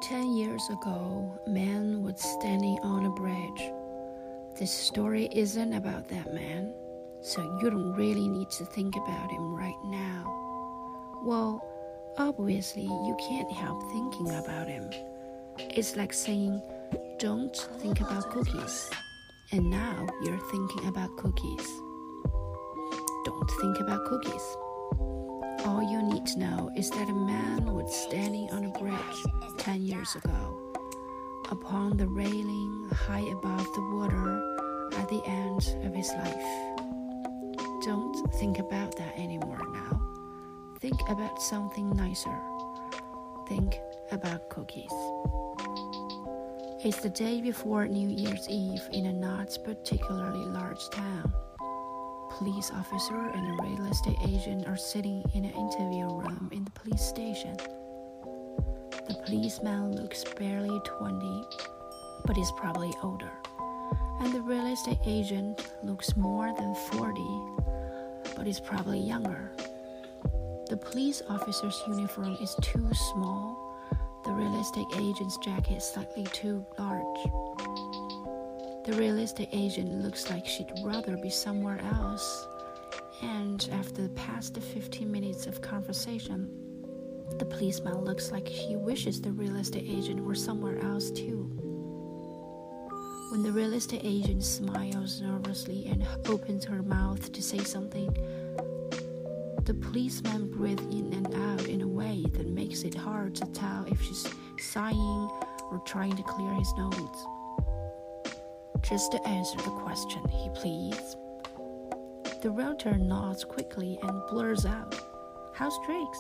10 years ago, a man was standing on a bridge. This story isn't about that man, so you don't really need to think about him right now. Well, obviously, you can't help thinking about him. It's like saying, don't think about cookies. And now you're thinking about cookies. Don't think about cookies. All you need to know is that a man was standing on a bridge 10 years ago, upon the railing high above the water at the end of his life. Don't think about that anymore now. Think about something nicer. Think about cookies. It's the day before New Year's Eve in a not particularly large town. Police officer and a real estate agent are sitting in an interview room in the police station. The policeman looks barely 20, but is probably older. And the real estate agent looks more than 40, but is probably younger. The police officer's uniform is too small. The real estate agent's jacket is slightly too large. The real estate agent looks like she'd rather be somewhere else. And after the past 15 minutes of conversation, the policeman looks like he wishes the real estate agent were somewhere else too. When the real estate agent smiles nervously and opens her mouth to say something, the policeman breathes in and out in a way that makes it hard to tell if she's sighing or trying to clear his nose. Just to answer the question, he pleads. The realtor nods quickly and blurs out, "House Drakes."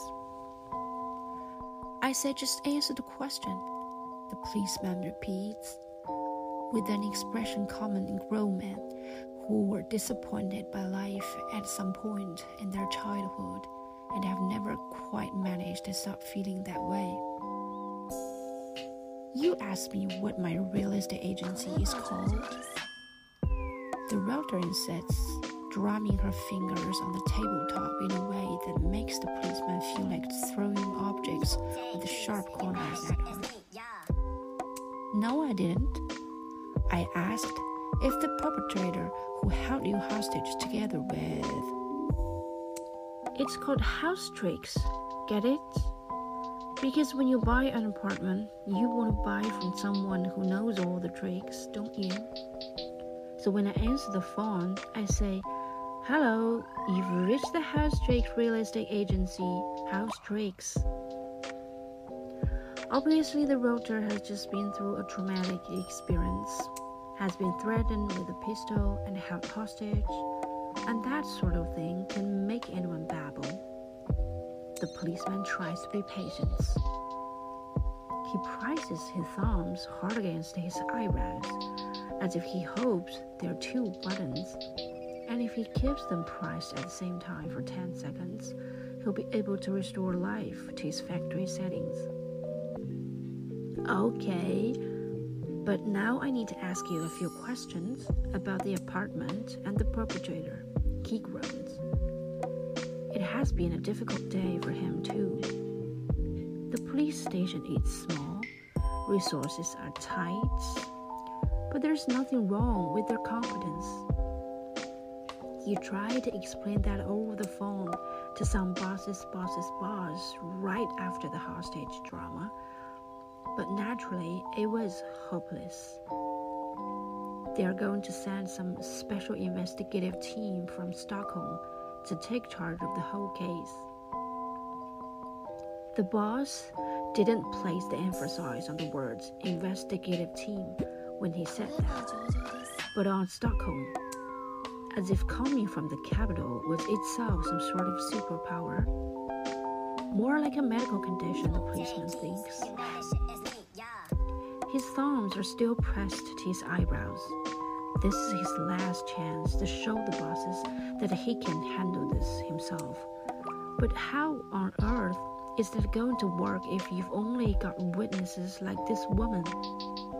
I said just answer the question, the policeman repeats, with an expression common in grown men who were disappointed by life at some point in their childhood and have never quite managed to stop feeling that way. You asked me what my real estate agency is called? The realtor insists, drumming her fingers on the tabletop in a way that makes the policeman feel like throwing objects with sharp corners at her. No, I didn't. I asked if the perpetrator who held you hostage together with... It's called House Drakes, get it? Because when you buy an apartment, you want to buy from someone who knows all the tricks, don't you? So when I answer the phone, I say, "Hello, you've reached the House Drakes Real Estate Agency, House Drakes." Obviously, the realtor has just been through a traumatic experience, has been threatened with a pistol and held hostage, and that sort of thing can make anyone babble. The policeman tries to be patient. He presses his thumbs hard against his eyebrows, as if he hopes there are two buttons, and if he keeps them pressed at the same time for 10 seconds, he'll be able to restore life to his factory settings. Okay, but now I need to ask you a few questions about the apartment and the perpetrator, he groans. It has been a difficult day for him too. The police station is small, resources are tight, but there's nothing wrong with their competence. You try to explain that over the phone to some boss's boss right after the hostage drama, but naturally it was hopeless. They are going to send some special investigative team from Stockholm to take charge of the whole case. The boss didn't place the emphasis on the words investigative team when he said that, but on Stockholm, as if coming from the capital was itself some sort of superpower. More like a medical condition, the policeman thinks. His thumbs are still pressed to his eyebrows. This is his last chance to show the bosses that he can handle this himself. But how on earth is that going to work if you've only got witnesses like this woman?